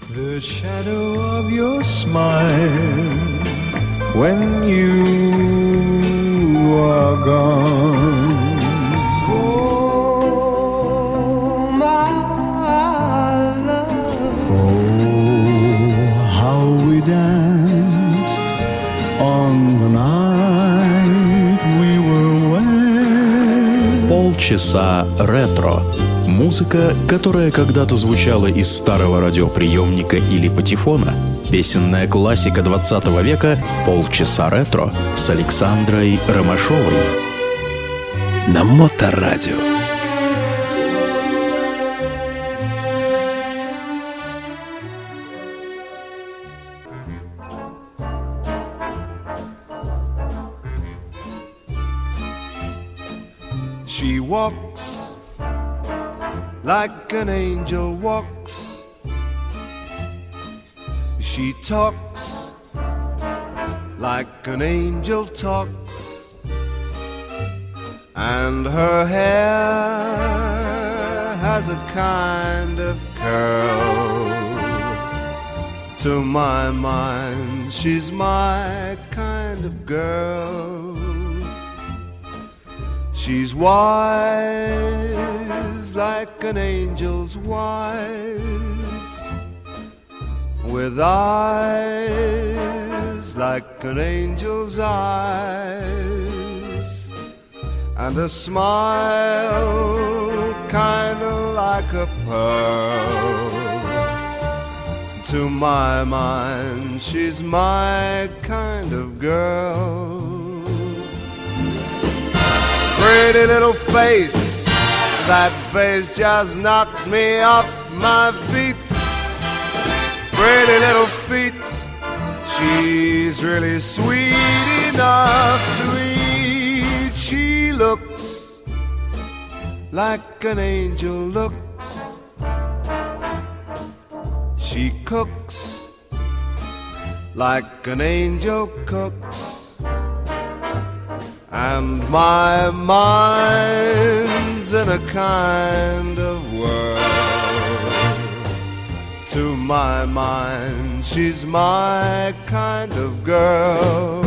The shadow of your smile when you are gone. Oh, my love. Oh, how we danced on the night we were wed. Полчаса ретро. Музыка, которая когда-то звучала из старого радиоприемника или патефона. Песенная классика 20 века «Полчаса ретро» с Александрой Ромашовой. На Моторадио. She walks like an angel walks. She talks like an angel talks. And her hair has a kind of curl. To my mind, she's my kind of girl. She's wise like an angel's wise, with eyes like an angel's eyes, and a smile kinda like a pearl. To my mind, she's my kind of girl. Pretty little face, that face just knocks me off my feet. Pretty little feet, she's really sweet enough to eat. She looks like an angel looks. She cooks like an angel cooks. And my mind's in a kind of whirl. To my mind, she's my kind of girl.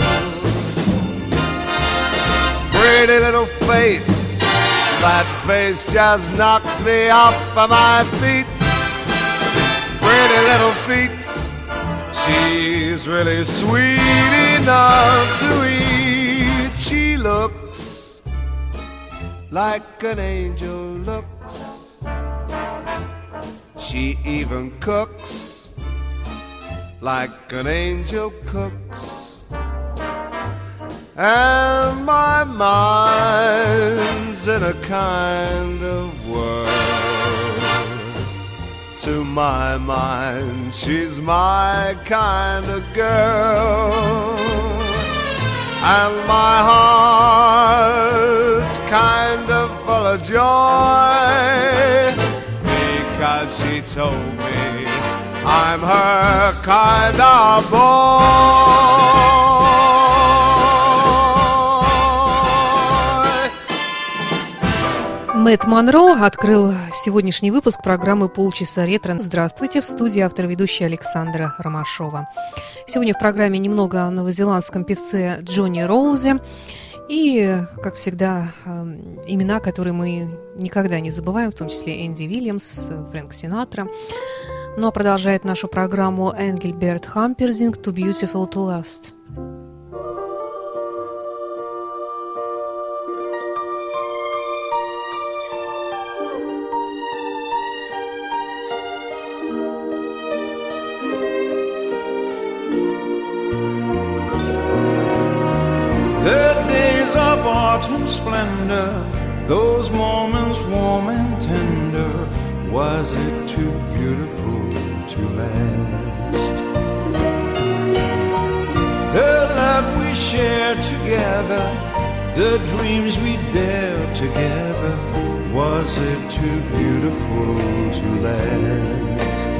Pretty little face, that face just knocks me off of my feet. Pretty little feet, she's really sweet enough to eat. She looks like an angel looks. She even cooks like an angel cooks. And my mind's in a kind of whirl. To my mind, she's my kind of girl. And my heart's kind of full of joy, because she told me I'm her kind of boy. Мэтт Монро открыл сегодняшний выпуск программы «Полчаса ретро». Здравствуйте, в студии автор-ведущая Александра Ромашова. Сегодня в программе немного о новозеландском певце Джонни Роузе. И, как всегда, имена, которые мы никогда не забываем, в том числе Энди Уильямс, Фрэнк Синатра. Ну а продолжает нашу программу Энгельберт Хамперзинг «Too Beautiful to Last». Autumn splendor, those moments warm and tender, was it too beautiful to last? The love we shared together, the dreams we dared together, was it too beautiful to last?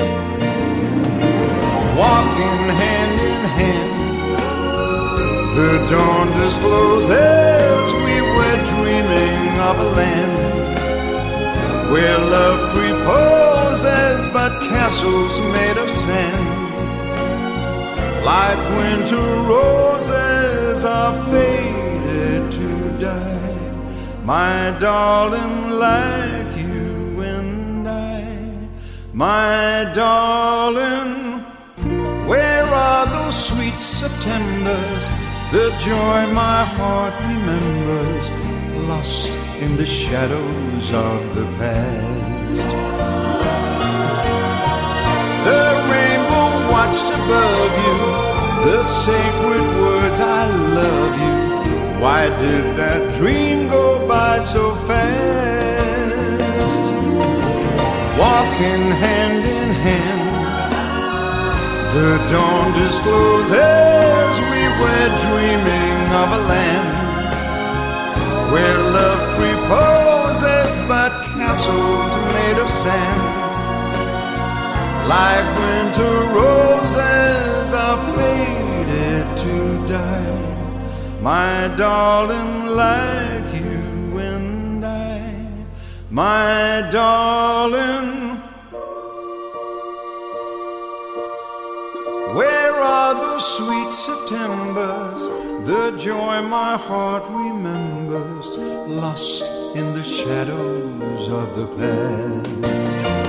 Walking hand in hand, the dawn discloses we were dreaming of a land where love preposes but but castles made of sand. Like winter roses are faded to die, my darling, like you and I. My darling, where are those sweet Septembers, the joy my heart remembers, lost in the shadows of the past? The rainbow watched above you, the sacred words, I love you. Why did that dream go by so fast? Walking hand in hand, the dawn discloses we were dreaming of a land where love reposes, but castles made of sand. Like winter roses are faded to die, my darling, like you and I. My darling, where are those sweet Septembers, the joy my heart remembers, lost in the shadows of the past?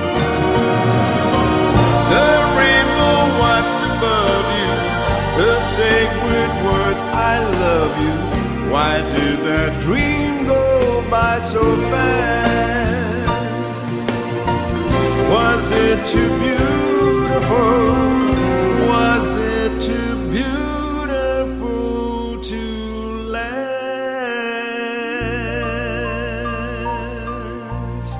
The rainbow watched above you, the sacred words, I love you. Why did that dream go by so fast? Was it too beautiful? Was it too beautiful to last?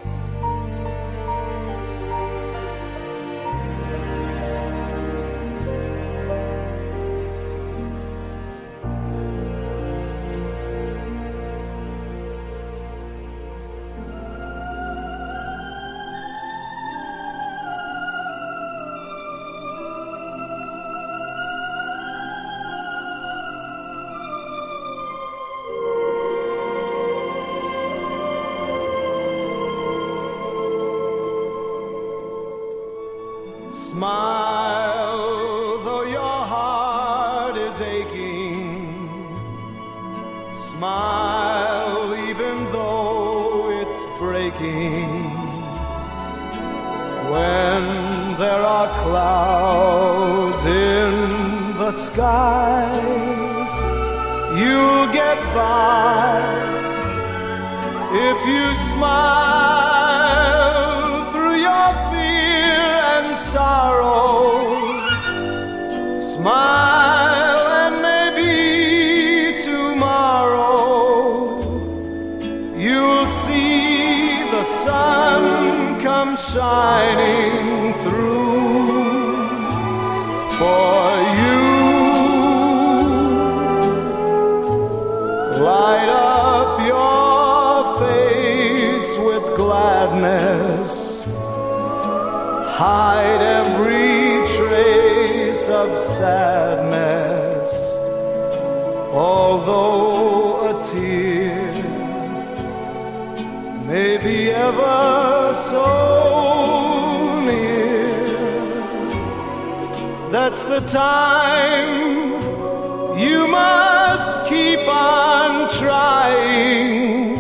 Smile, though your heart is aching. Smile, even though it's breaking. When there are clouds in the sky, you'll get by if you smile through your fear and sorrow. Smile and maybe tomorrow you'll see the sun come shining through for you. Light up your face with gladness, hide every trace of sadness, although a tear may be ever so near. That's the time you must keep on trying.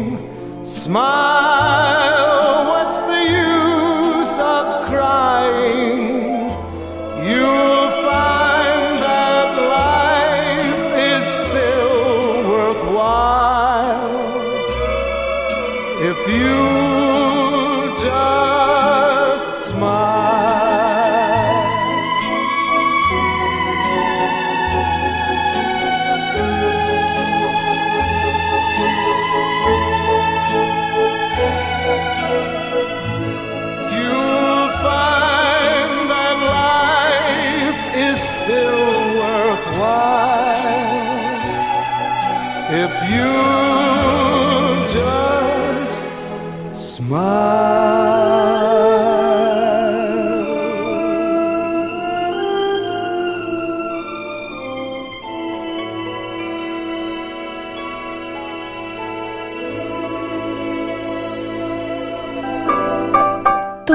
Smile, what's the use of crying? You'll find that life is still worthwhile if you just smile. You'll find that life is still worthwhile if you just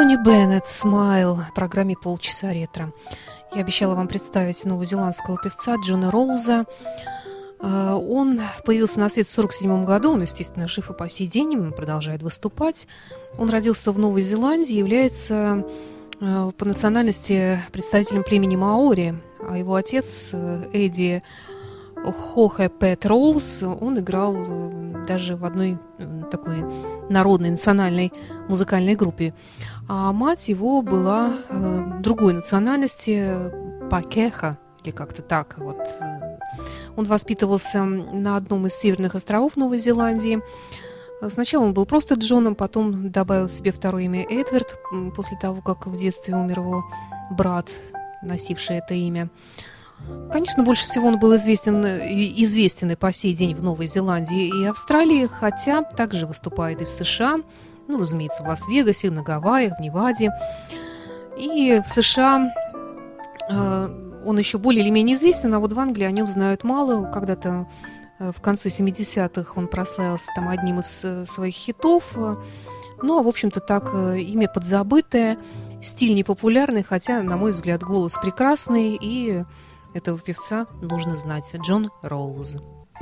Тони Беннет «Смайл» в программе «Полчаса ретро». Я обещала вам представить новозеландского певца Джона Роуза. Он появился на свет в 1947 году, он, естественно, жив и по сей день, продолжает выступать. Он родился в Новой Зеландии, является по национальности представителем племени маори, а его отец Эдди Хохе Пэт Роуз, он играл даже в одной такой народной национальной музыкальной группе. А мать его была другой национальности, пакеха, или как-то так. Вот. Он воспитывался на одном из северных островов Новой Зеландии. Сначала он был просто Джоном, потом добавил себе второе имя Эдвард, после того, как в детстве умер его брат, носивший это имя. Конечно, больше всего он был известен и по сей день в Новой Зеландии и Австралии, хотя также выступает и в США, ну, разумеется, в Лас-Вегасе, на Гавайях, в Неваде. И в США он еще более или менее известен, а вот в Англии о нем знают мало. Когда-то в конце 70-х он прославился там одним из своих хитов. Ну, а, в общем-то, так, имя подзабытое, стиль непопулярный, хотя, на мой взгляд, голос прекрасный, и этого певца нужно знать. Джон Роуз.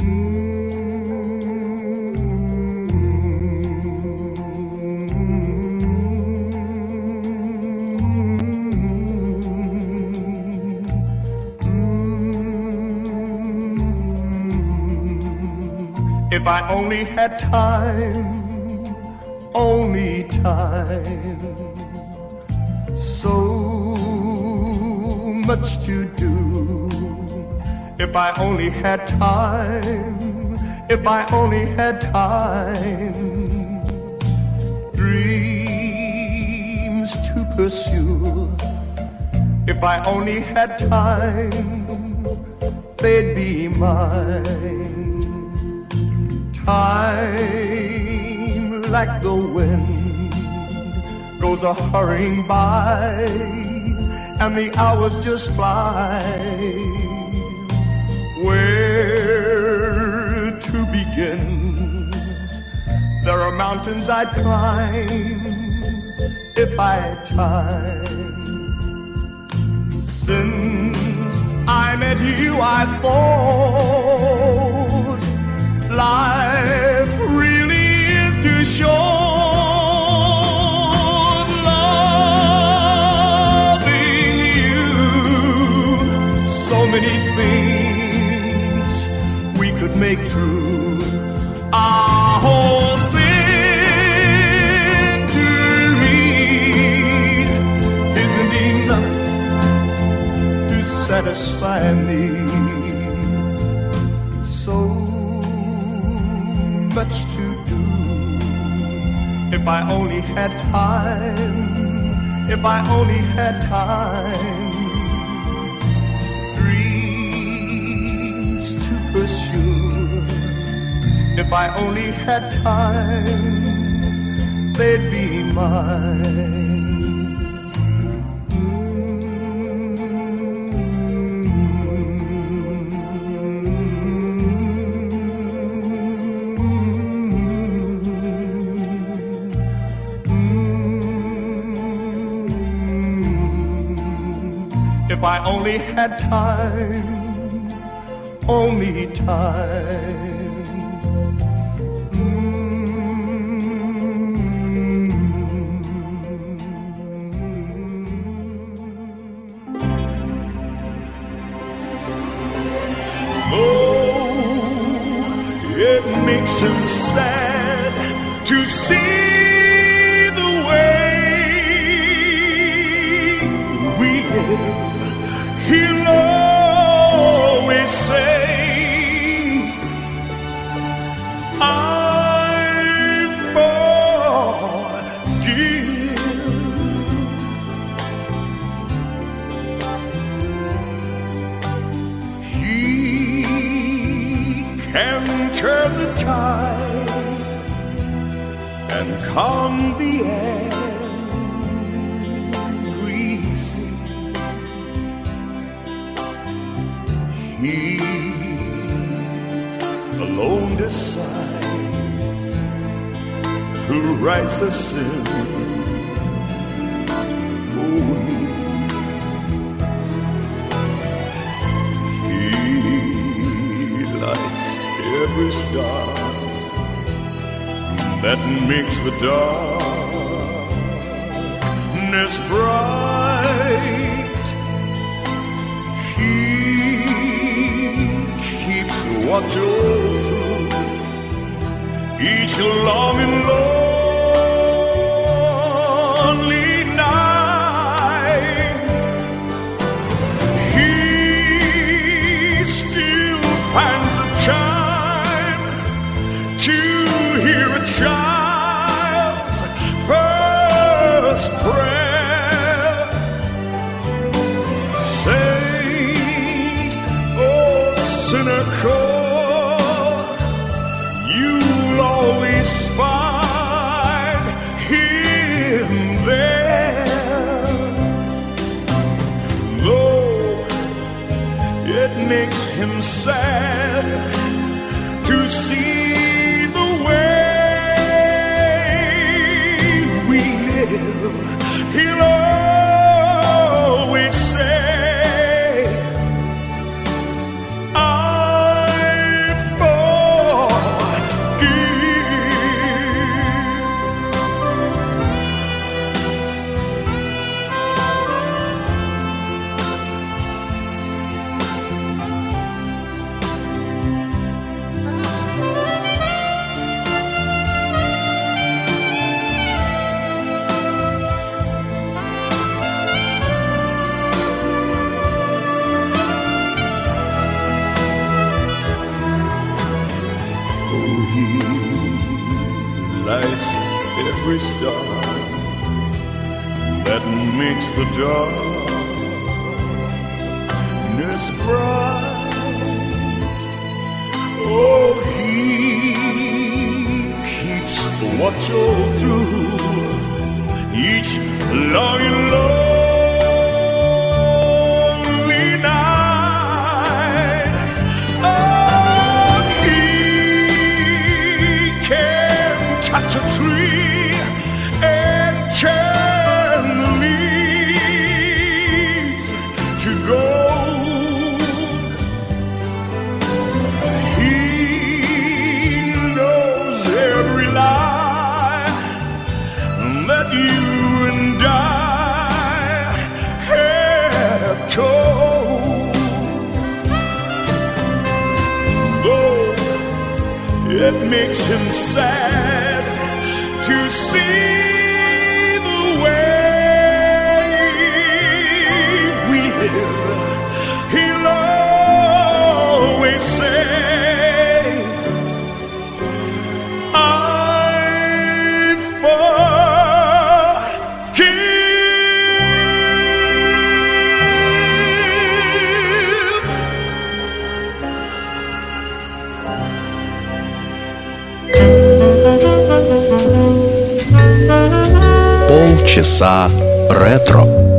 If I only had time, only time, so much to do. If I only had time, if I only had time, dreams to pursue. If I only had time, they'd be mine. Time, like the wind, goes a-hurrying by, and the hours just fly. Where to begin? There are mountains I'd climb if I had time. Since I met you, I've thought life really is too short. Loving you, so many things we could make true. Our whole century isn't enough to satisfy me. So much to do. If I only had time, if I only had time, dreams to pursue. If I only had time, they'd be mine. If I only had time, only time. Oh, it makes him sad to see the way we live. He'll always say, I forgive. He can curb the tide and calm the angry sea. He alone decides who writes a sin star that makes the darkness bright. He keeps watch over each long and lonely night. He still finds the time to hear a child's first prayer. Saint or sinner call, you'll always find him there. Though it makes him sad to see the way we live, he'll always say, every star that makes the darkness bright. Oh, he keeps watch all through each long and lonely night. Oh, he can touch a tree turn the leaves to gold. He knows every lie that you and I have told. Though it makes him sad to see he'll always say, I forgive. Полчаса ретро.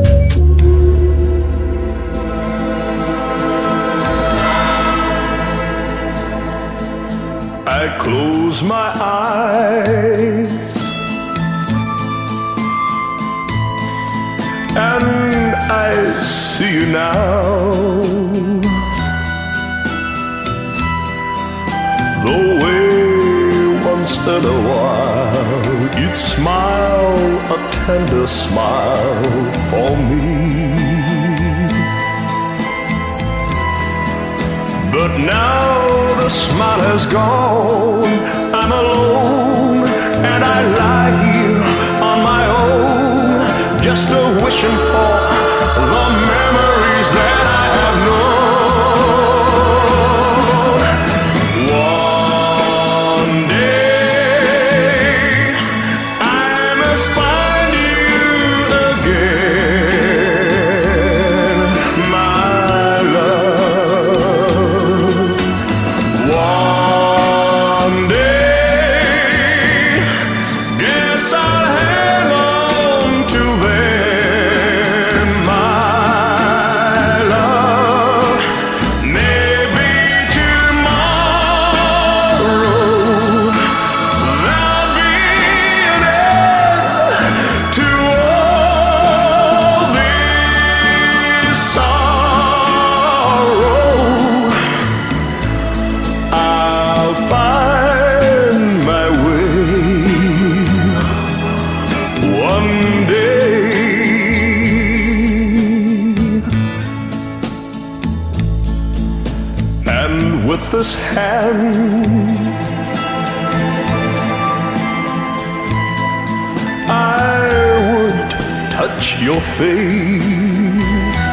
I close my eyes and I see you now. The way once in a while you'd smile a tender smile for me. But now the smile has gone, I'm alone, and I lie here on my own, just a wishing for the memories that I have known. One day I must find you again, my love. One day, guess I'll hang on to them, my love. this hand. I would touch your face,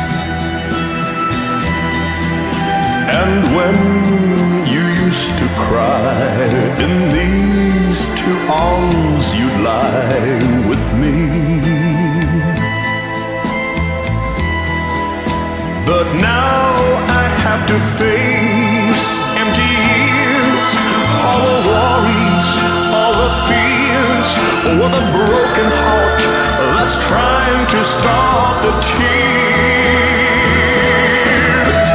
and when you used to cry, in these two arms you'd lie with me. But now I have to face empty years, all the worries, all the fears, with a broken heart that's trying to stop the tears.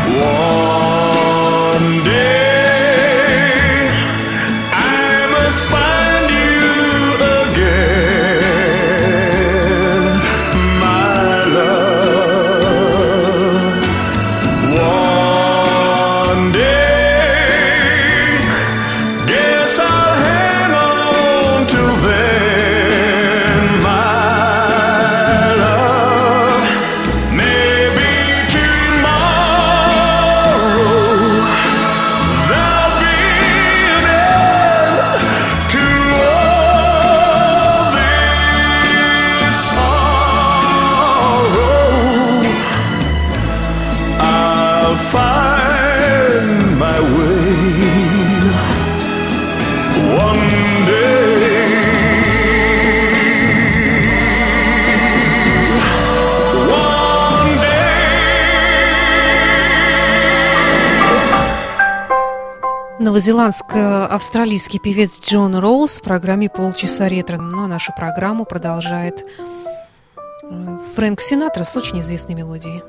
One day I must find you again, my love. One day, guess I'll hang on till then, my love. Maybe tomorrow there'll be an end to all this sorrow. I'll find my way one day. One day. Новозеландско-австралийский певец Джон Роуз в программе «Полчаса ретро». Ну а нашу программу продолжает Фрэнк Синатра с очень известной мелодией.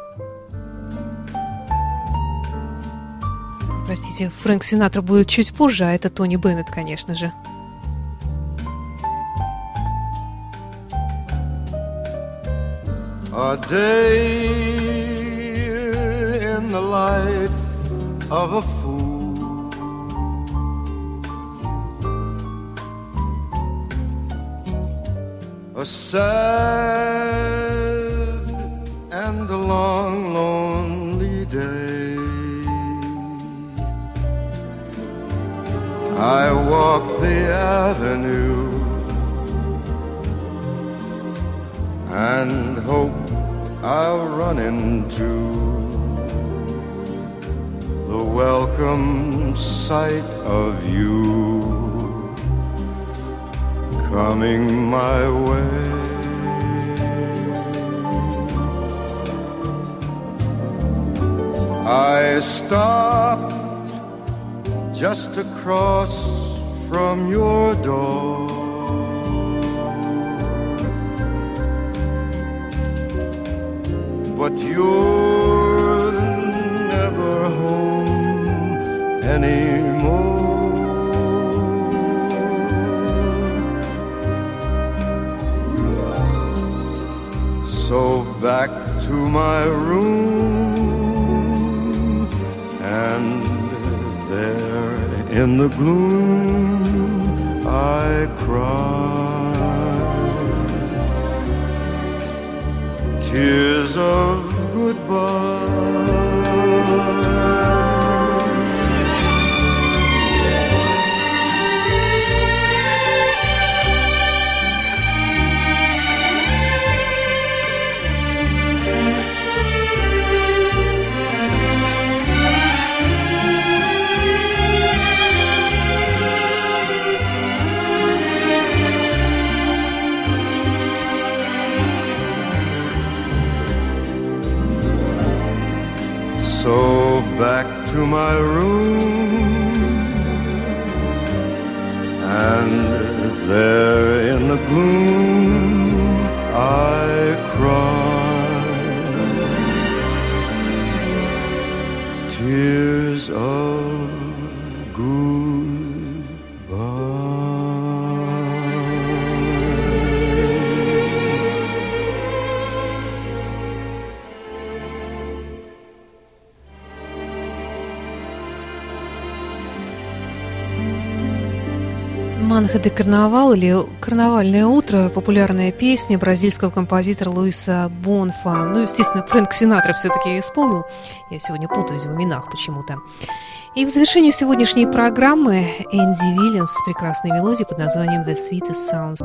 Простите, Фрэнк Синатра будет чуть позже, а это Тони Беннет, конечно же. A day in the life of a fool, a sad and a long, lonely day. I walk the avenue and hope I'll run into the welcome sight of you coming my way. I stopped just across from your door, but you're never home anymore. So back to my room, and there in the gloom I cried tears of goodbye. So back to my room, and there in the gloom I cried tears of «Манха де Карнавал» или «Карнавальное утро» – популярная песня бразильского композитора Луиса Бонфа. Ну, естественно, Фрэнк Синатра все-таки ее исполнил. Я сегодня путаюсь в именах почему-то. И в завершении сегодняшней программы Энди Уильямс с прекрасной мелодией под названием «The Sweetest Sounds».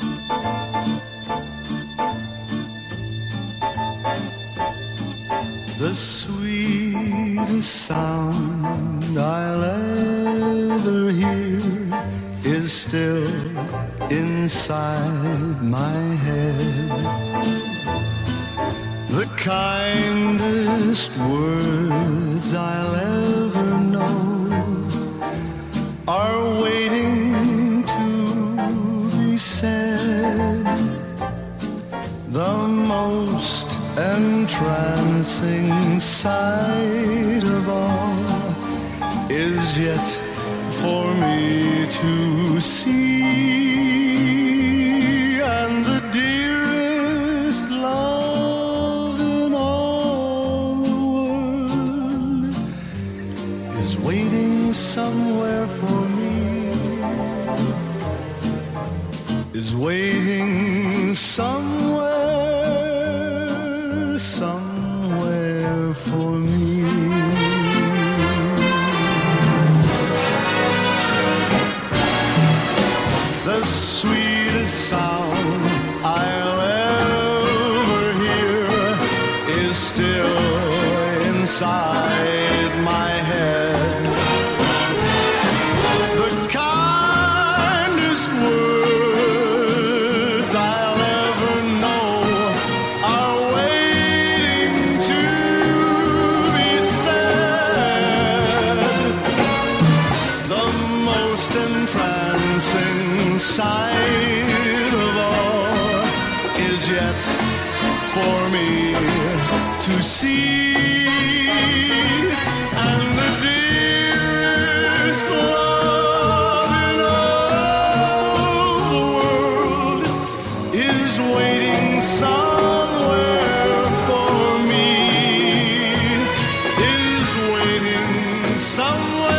The sweetest sound I'll ever hear is still inside my head. The kindest words I'll ever know are waiting to be said. The most entrancing sight of all is yet for me to see, and the dearest love in all the world is waiting somewhere for me, is waiting somewhere for me. The sweetest sound I'll ever hear is still inside my head. The kindest words I'll ever know are waiting to be said. The most entrancing sight of all is yet for me to see, and the dearest love in all the world is waiting somewhere for me, is waiting somewhere.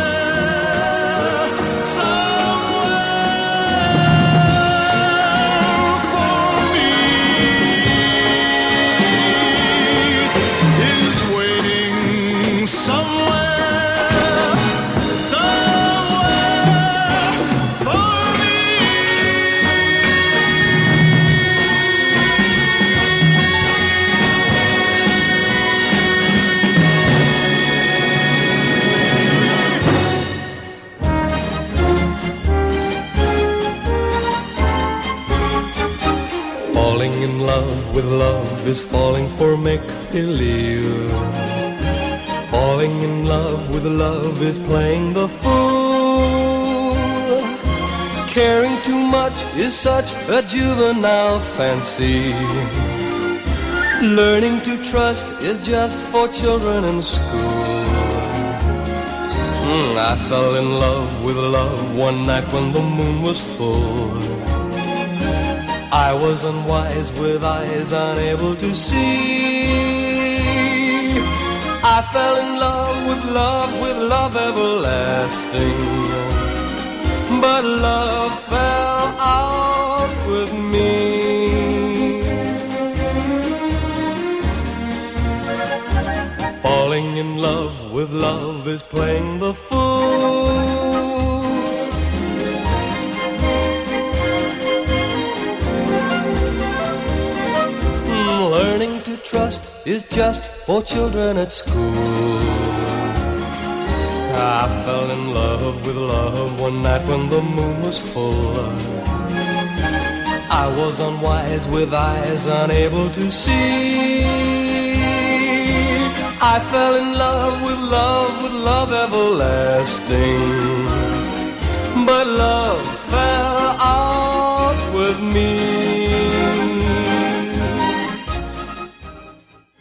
With love is falling for make-believe. Falling in love with love is playing the fool. Caring too much is such a juvenile fancy. Learning to trust is just for children in school. I fell in love with love one night when the moon was full. I was unwise with eyes unable to see. I fell in love with love everlasting. But love fell out with me. Falling in love with love is playing the fool. Learning to trust is just for children at school. I fell in love with love one night when the moon was full. I was unwise with eyes unable to see. I fell in love with love everlasting. But love